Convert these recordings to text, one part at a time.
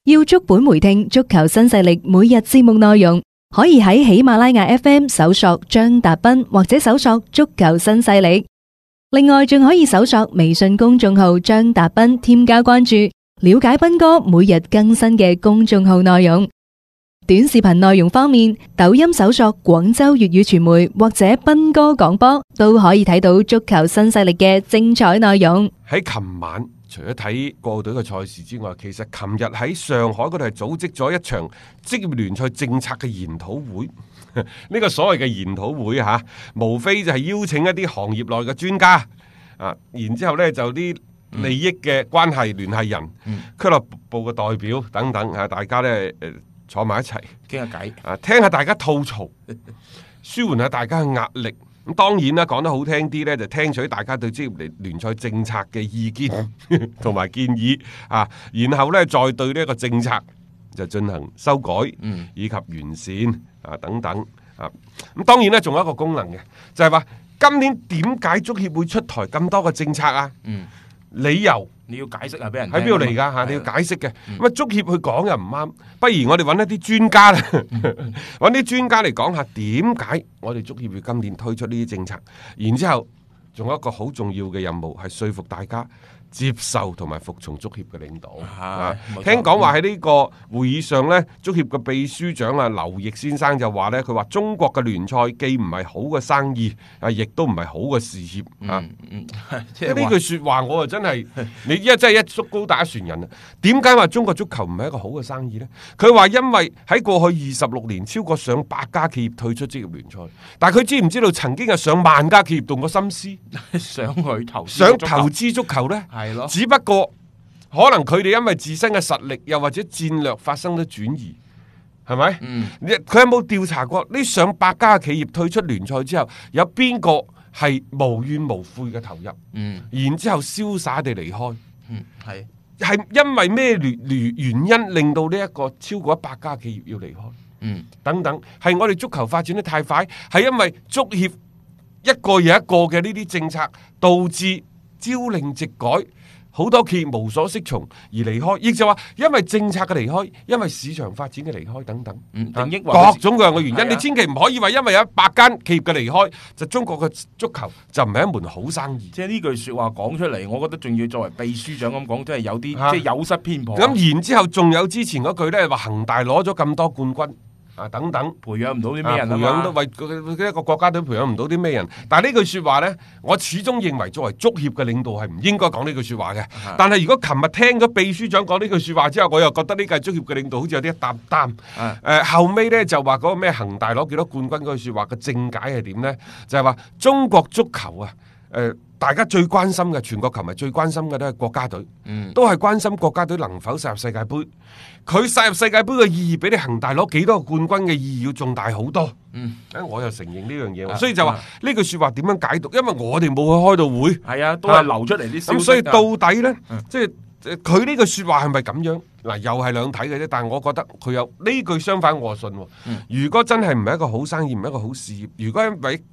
要足本回聽足球新勢力每日節目內容，可以喺喜馬拉雅 FM 搜索張達斌或者搜索足球新勢力。另外，仲可以搜索微信公眾號張達斌，添加關注，了解斌哥每日更新嘅公眾號內容。短視頻內容方面，抖音搜索廣州粵語傳媒或者斌哥廣播，都可以睇到足球新勢力嘅精彩內容。 喺琴晚，除咗睇國奧隊嘅賽事之外，其實琴日喺上海嗰度係組織咗一場職業聯賽政策嘅研討會。呢個所謂嘅研討會嚇，無非就係邀請一啲行業內嘅專家啊，然之後呢，就啲利益嘅關係聯繫人、俱樂部嘅代表等等啊，大家呢坐埋一齊傾下偈啊，聽下大家吐槽，舒緩下大家嘅壓力。咁當然啦，講得好聽啲呢，就聽取大家對職業聯賽政策嘅意見同埋建議啊，然後呢，再對呢一個政策就進行修改以及完善啊等等啊。咁當然呢，仲有一個功能嘅，就係話今年點解足協會出台咁多個政策啊？理由你要解釋下俾人喺邊度嚟㗎嚇？你要解釋嘅。咁啊，足協去講又唔啱，不如我哋揾一啲專家啦，揾啲專家嚟講下點解我哋足協會今年推出呢啲政策。然之後仲有一個好重要嘅任務係說服大家接受同埋服從足協嘅領導。聽講話喺呢個會議上呢，足協嘅秘書長啊劉奕先生就話呢，佢話中國嘅聯賽既唔係好嘅生意，啊，亦都唔係好嘅事業啊。呢句説話我啊真係，你真係一竹篙打船人啊！點解話中國足球唔係一個好嘅生意呢？佢話因為喺過去26年，超過上百家企業退出職業聯賽，但係佢知唔知道曾經有上萬家企業動過心思想去想投資足球呢？只不過可能佢哋因為自身嘅實力又或者戰略發生咗轉移，係咪？佢有冇調查過呢上百家企業退出聯賽之後，有邊個係無怨無悔嘅投入？然之後瀟灑地離開？係因為咩原因令到呢一個超過100家企業要離開？等等，係我哋足球發展得太快，係因為足協一個又一個嘅呢啲政策導致朝令夕改，好多企業無所適從而離開，亦就話因為政策嘅離開，因為市場發展嘅離開等等，各種各樣嘅原因。你千祈唔可以話因為有100間企業嘅離開，就中國嘅足球就唔係一門好生意。 即係呢句説話講出嚟，我覺得仲要作為秘書長咁講，真係有啲即係有失偏頗。 咁然之後仲有之前嗰句呢，話恒大攞咗咁多冠軍。等等， 培養唔到啲咩人， 培養都為一個國家隊培養唔到啲咩人。但係呢句説話呢，我始終認為作為足協嘅領導係唔應該講呢句説話嘅。但係如果琴日聽咗秘書長講呢句説話之後，我又覺得呢個足協嘅領導好似有啲一擔擔。後尾呢就話嗰個咩恒大攞幾多冠軍嗰句説話嘅正解係點呢？就係話中國足球啊，大家最關心嘅，全國球迷最關心嘅都係國家隊，都係關心國家隊能否殺入世界盃。佢殺入世界盃嘅意義比你恒大攞幾多個冠軍嘅意義要重大好多。我又承認呢樣嘢，所以就話呢句説話點樣解讀？因為我哋冇去開到會， 係啊，都係流出嚟啲消息。 咁所以到底呢，即係佢呢句説話係咪咁樣？嗱，又係兩睇嘅啫。但係我覺得佢有呢句相反我信。如果真係唔係一個好生意，唔係一個好事業，如果因為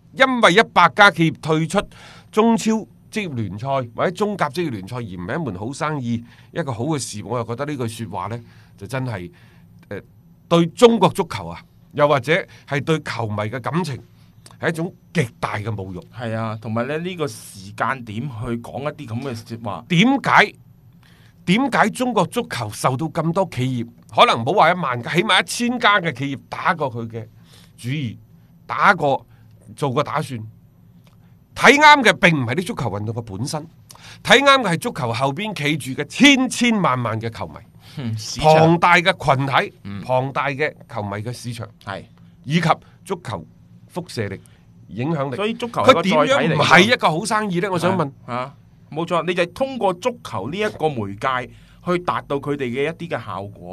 100家企業退出中超職業聯賽或者中甲職業聯賽而唔係一門好生意，一個好嘅事，我又覺得呢句説話呢，就真係對中國足球啊，又或者係對球迷嘅感情係一種極大嘅侮辱。 係啊，同埋咧呢個時間點去講一啲咁嘅説話， 點解中國足球受到咁多企業，可能唔好話1萬家，起碼1000家嘅企業打過佢嘅主意，做過打算？睇啱嘅並唔係啲足球運動嘅本身，睇啱嘅係足球後邊企住嘅千萬嘅球迷，龐大嘅群體，龐大嘅球迷嘅市場，以及足球輻射力、影響力。 所以足球佢點樣唔係一個好生意呢？我想問冇錯，你就係通過足球呢一個媒介去達到佢哋嘅一啲嘅效果。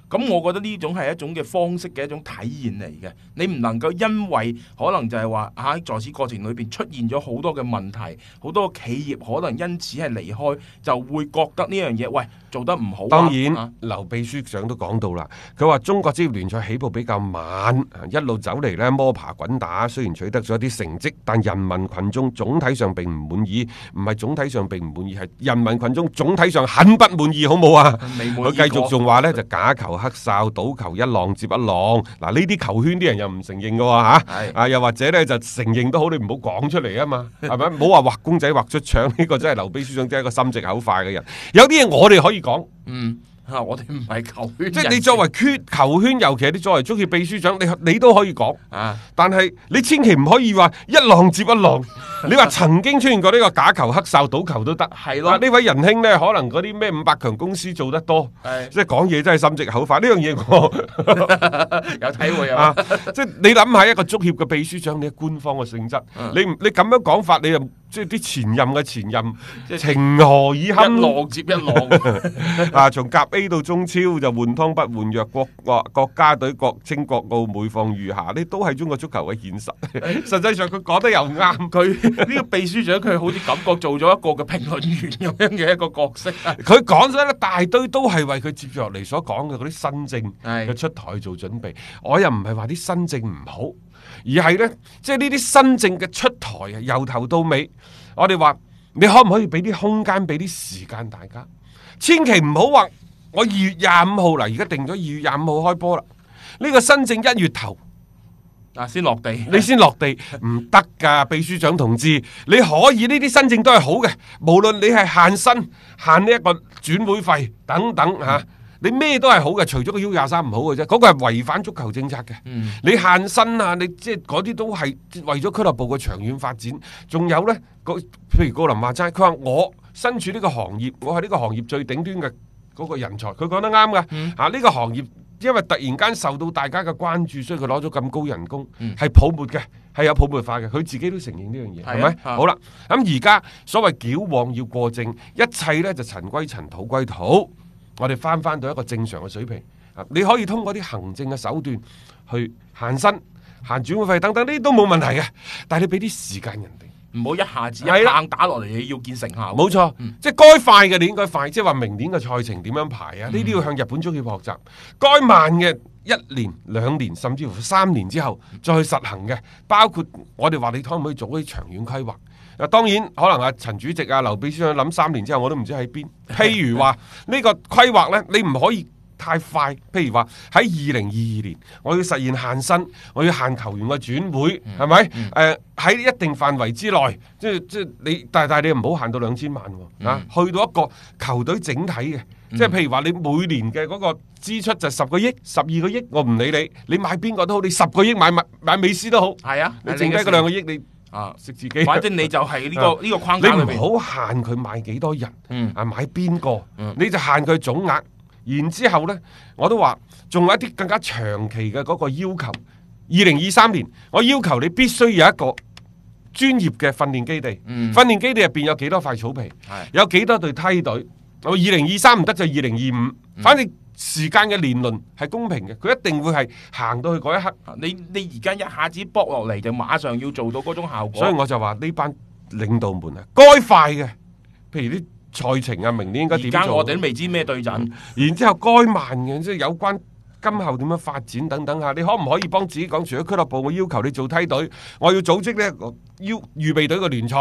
咁我覺得呢種係一種嘅方式嘅一種體現嚟嘅。你唔能夠因為可能就係話喺在此過程裏邊出現咗好多嘅問題，好多企業可能因此係離開，就會覺得呢樣嘢喂做得唔好。 當然，劉秘書長都講到啦，佢話中國職業聯賽起步比較慢，一路走嚟呢摸爬滾打，雖然取得咗一啲成績，但人民群眾總體上並唔滿意，唔係總體上並唔滿意，係人民群眾總體上很不滿意，好冇啊？佢繼續仲話呢，就假球黑哨，賭球一浪接一浪。嗱，呢啲球圈啲人又唔承認嘅喎嚇，又或者呢就承認都好，你唔好講出嚟啊嘛，係咪？唔好話畫公仔畫出腸，呢個真係劉秘書長真係一個心直口快嘅人。有啲嘢我哋可以講， 我哋唔係球圈， 即係你作為球圈，尤其係你作為足協秘書長，你都可以講但係你千祈唔可以話一浪接一浪。你話曾經出現過呢個假球黑哨賭球都得，係咯？呢位仁兄呢，可能嗰啲咩500強公司做得多，即係講嘢真係心直口快。呢樣嘢我有體會啊！ 即係你諗下一個足協嘅秘書長，你係官方嘅性質，你咁樣講法，你又即係啲前任嘅前任，情何以堪？ 一浪接一浪從甲 A 到中超就換湯不換藥，國家隊國青國奧每況愈下，呢都係中國足球嘅現實。實際上佢講得又啱，佢。 呢個秘書長佢好似感覺做咗一個嘅評論員咁樣嘅一個角色， 佢講咗一大堆都係為佢接住落嚟所講嘅嗰啲新政嘅出台做準備。我又唔係話啲新政唔好，而係呢，即係呢啲新政嘅出台啊，由頭到尾，我哋話你可唔可以俾啲空間，俾啲時間大家？千祈唔好話我2月25號啦，而家定咗2月25號開波啦，呢個新政1月頭。 先落地， 你先落地唔得噶，秘書長同志，你可以呢啲新政都係好嘅，無論你係限薪、限呢一個轉會費等等吓，你咩都係好嘅，除咗個 U23唔好嘅啫，嗰個係違反足球政策嘅。你限薪啊，你即係嗰啲都係為咗俱樂部嘅長遠發展。仲有呢，譬如高林話齋，佢話我身處呢個行業，我係呢個行業最頂端嘅嗰個人才，佢講得啱噶。呢個行業。因為突然間受到大家嘅關注，所以佢攞咗咁高人工，係泡沫嘅，係有泡沫化嘅，佢自己都承認呢樣嘢，係咪？好啦，咁而家所謂矯枉要過正，一切呢就塵歸塵，土歸土，我哋翻到一個正常嘅水平。你可以通過啲行政嘅手段去限薪、限轉會費等等，呢啲都冇問題嘅，但係你俾啲時間人哋。 唔好一下子一棒打落嚟，你要見成效。 冇錯，即係該快嘅你應該快，即係話明年嘅賽程點樣排啊？呢啲要向日本足協學習。該慢嘅1年、2年，甚至乎3年之後再去實行嘅，包括我哋話你可唔可以做啲長遠規劃？當然可能阿陳主席啊、劉秘書長諗3年之後我都唔知喺邊。譬如話呢個規劃呢，你唔可以太快，譬如話喺2022年，我要實現限薪，我要限球員嘅轉會，係咪？喺一定範圍之內，即係你，但係你唔好限到2000萬喎，去到一個球隊整體嘅，即係譬如話你每年嘅嗰個支出就10個億、12個億，我唔理你，你買邊個都好，你10個億買美斯都好，係啊，你剩低嗰2個億你食自己， 反正你就係呢個框架裏面， 你唔好限佢買幾多人，買邊個，你就限佢總額。然之後呢，我都話仲有一啲更加長期嘅嗰個要求。2023年，我要求你必須有一個專業嘅訓練基地。訓練基地入邊有幾多塊草皮，有幾多隊梯隊。我2023唔得就2025，反正時間嘅年輪係公平嘅，佢一定會係行到去嗰一刻。 你而家一下子搏落嚟就馬上要做到嗰種效果。 所以我就話呢班領導們啊，該快嘅，譬如啲賽程啊，明年應該點做？而家我哋都未知咩對陣， 然之後該慢嘅，即係有關今後點樣發展等等下，你可唔可以幫自己講？除咗俱樂部，我要求你做梯隊，我要組織呢個預備隊嘅聯賽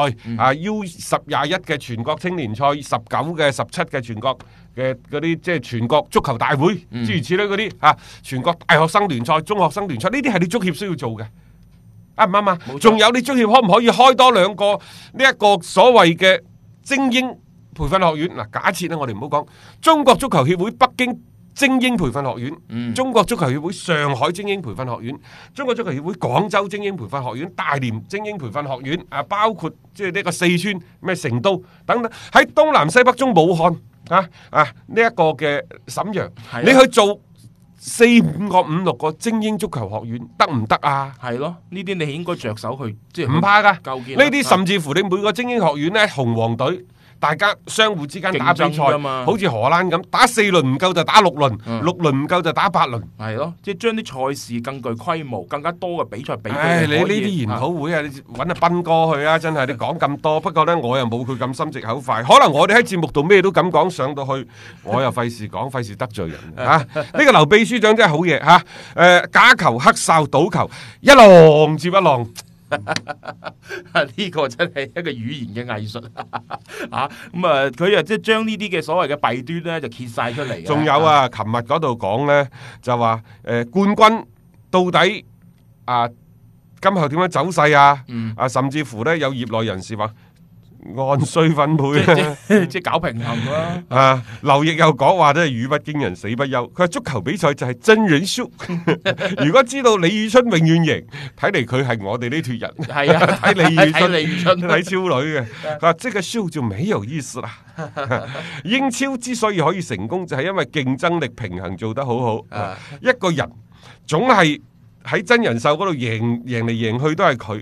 ，U10-21嘅全國青年賽，19嘅17嘅全國嘅嗰啲即係全國足球大會，諸如此類嗰啲全國大學生聯賽、中學生聯賽，呢啲係你足協需要做嘅，啱唔啱啊？仲有你足協可唔可以開多2個呢一個所謂嘅精英培訓學院？嗱，假設咧，我哋唔好講中國足球協會北京精英培訓學院，中國足球協會上海精英培訓學院，中國足球協會廣州精英培訓學院，大連精英培訓學院，包括即係呢個四川咩成都等等，喺東南西北中武漢呢一個嘅瀋陽，你去做4、5個、5、6個精英足球學院得唔得啊？ 係咯，呢啲你應該着手去，即係唔怕噶。 構建呢啲甚至乎你每個精英學院呢，紅黃隊大家相互之間打比賽， 競爭㗎嘛好似荷蘭咁，打4輪唔夠就打6輪，6輪唔夠就打8輪。 係咯，即係將啲賽事更具規模、更加多嘅比賽比。 唉，你呢啲研討會啊，你揾阿斌哥去啊，真係你講咁多。不過呢，我又冇佢咁心直口快，可能我哋喺節目度咩都咁講，上到去我又費事講，費事得罪人啊！呢個劉秘書長真係好嘢嚇，假球黑哨賭球，一浪接一浪。 呢個真係一個語言嘅藝術啊！咁啊，佢啊即係將呢啲嘅所謂嘅弊端咧，就揭晒出嚟。 仲有啊，琴日嗰度講咧，就話冠軍到底啊，今後點樣走勢啊？啊，甚至乎咧有業內人士話按需分配即係搞平衡啦。 啊，劉奕又講話真係語不驚人死不休。佢話足球比賽就係真人 show。如果知道李宇春永遠贏，睇嚟佢係我哋呢脱人。 係啊， 睇李宇春， 李宇春睇超女嘅。佢話即個 show 就沒有意思啦。英超之所以可以成功，就係因為競爭力平衡做得好好。一個人總係喺真人秀嗰度贏嚟贏去都係佢。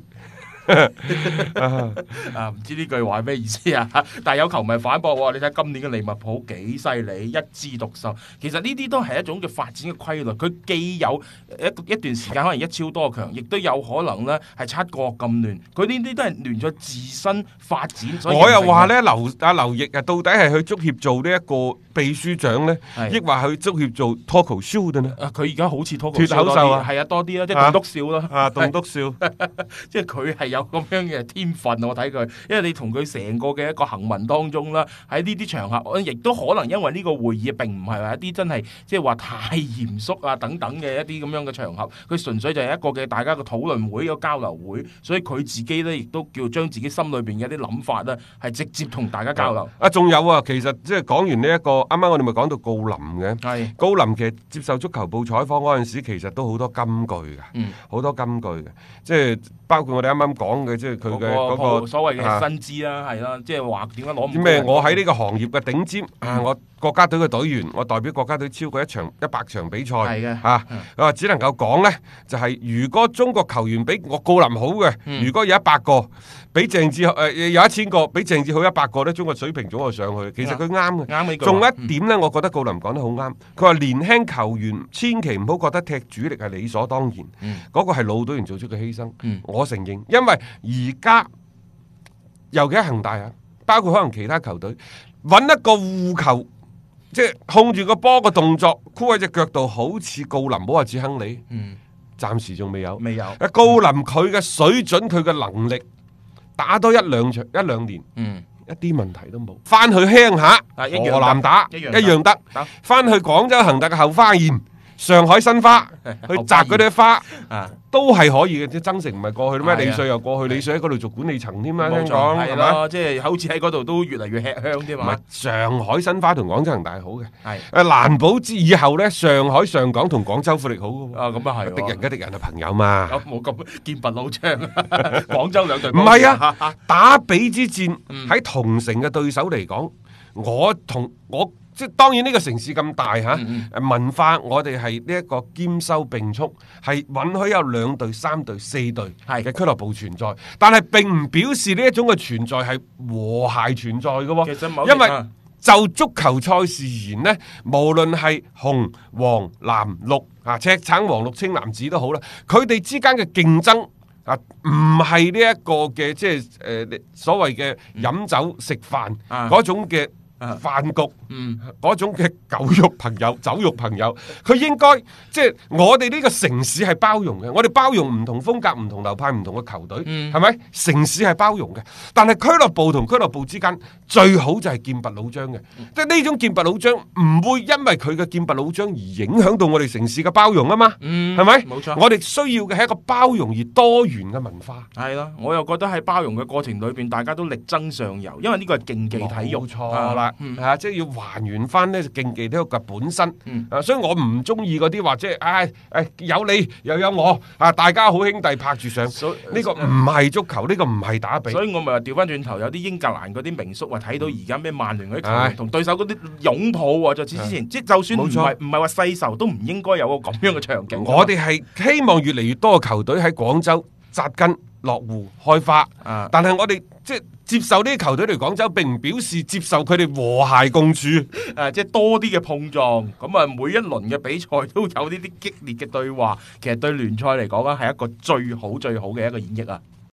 唔知呢句話係咩意思啊？但係有球迷反駁，你睇今年嘅利物浦幾犀利，一枝獨秀。其實呢啲都係一種嘅發展嘅規律。佢既有一段時間可能一超多強，亦都有可能咧係七國咁亂。佢呢啲都係亂咗自身發展。所以我又話咧，劉奕啊，到底係去足協做呢一個秘書長咧，抑或去足協做 talk show 嘅呢？佢而家好似 talk show 多啲，係啊，多啲啦，即係棟篤笑啦，棟篤笑，即係佢係有咁樣嘅天分，我睇佢，因為你同佢成個嘅一個行文當中啦，喺呢啲場合，亦都可能因為呢個會議並唔係話一啲真係即係話太嚴肅啊等等嘅一啲咁樣嘅場合，佢純粹就係一個嘅大家嘅討論會、一個交流會，所以佢自己咧亦都叫將自己心裏邊嘅一啲諗法咧，係直接同大家交流。仲有啊，其實即係講完呢一個，啱啱我哋咪講到郜林嘅，係郜林其實接受足球報採訪嗰陣時，其實都好多金句嘅，好多金句嘅，即係包括我哋啱啱講嘅，即係佢嘅嗰個所謂嘅薪資啦，係啦，即係話點解攞唔到咩？我喺呢個行業嘅頂尖我國家隊嘅隊員，我代表國家隊超過100場比賽，係嘅嚇，只能夠講呢，就係如果中國球員比我郜林好嘅，如果有100個，比鄭智有1000個，比鄭智好100個咧，中國水平總係上去。其實佢啱嘅，啱呢句。仲有一點呢，我覺得郜林講得好啱。佢話年輕球員千祈唔好覺得踢主力係理所當然，嗰個係老隊員做出嘅犧牲。我承認，因為而家尤其喺恒大啊，包括可能其他球隊，揾一個護球，即係控住個波嘅動作，箍喺隻腳度，好似郜林，唔好話似亨利，暫時仲未有。郜林佢嘅水準，佢嘅能力，打多一兩年，一啲問題都冇。翻去鄉下河南打一樣得，翻去廣州恒大嘅後花園、上海申花去摘嗰啲花，都係可以嘅。即係曾誠唔係過去咩？李瑞又過去，李瑞喺嗰度做管理層添啦。聽講係嘛？即係好似喺嗰度都越嚟越吃香啲嘛。上海申花同廣州恒大好嘅，係難保之以後咧，上海上港同廣州富力好嘅。咁啊係，敵人嘅敵人係朋友嘛。冇咁劍拔弩張。廣州兩隊唔係啊，打比之戰喺同城嘅對手嚟講，我即係當然呢個城市咁大嚇，文化我哋係呢一個兼收並蓄，係允許有2隊、3隊、4隊嘅俱樂部存在，但係並唔表示呢一種嘅存在係和諧存在嘅喎。因為就足球賽事而言呢，無論係紅、黃、藍、綠啊，赤橙黃綠青藍紫都好啦，佢哋之間嘅競爭啊，唔係呢一個嘅即係所謂嘅飲酒食飯嗰種嘅飯局，嗰種嘅酒肉朋友，佢應該即係我哋呢個城市係包容嘅，我哋包容唔同風格、唔同流派、唔同嘅球隊，係咪？城市係包容嘅，但係俱樂部同俱樂部之間最好就係劍拔弩張嘅，即係呢種劍拔弩張唔會因為佢嘅劍拔弩張而影響到我哋城市嘅包容啊嘛，係咪？冇錯，我哋需要嘅係一個包容而多元嘅文化。係咯，我又覺得喺包容嘅過程裏邊，大家都力爭上游，因為呢個係競技體育，冇錯啦。即係要還原翻呢競技體育嘅本身，所以我唔中意嗰啲話即係，有你又有我，大家好兄弟拍住上，呢個唔係足球，呢個唔係打比。所以我咪話調翻轉頭，有啲英格蘭嗰啲名宿話睇到而家咩曼聯嗰啲球員同對手嗰啲擁抱啊，就似之前，即係就算唔係話世仇，都唔應該有個咁樣嘅場景。我哋係希望越嚟越多嘅球隊喺廣州紮根落戶開花。但係我哋即係接受呢啲球隊嚟廣州，並唔表示接受佢哋和諧共處。 即係多啲嘅碰撞，咁啊每一輪嘅比賽都有呢啲激烈嘅對話，其實對聯賽嚟講咧係一個最好嘅一個演繹啊！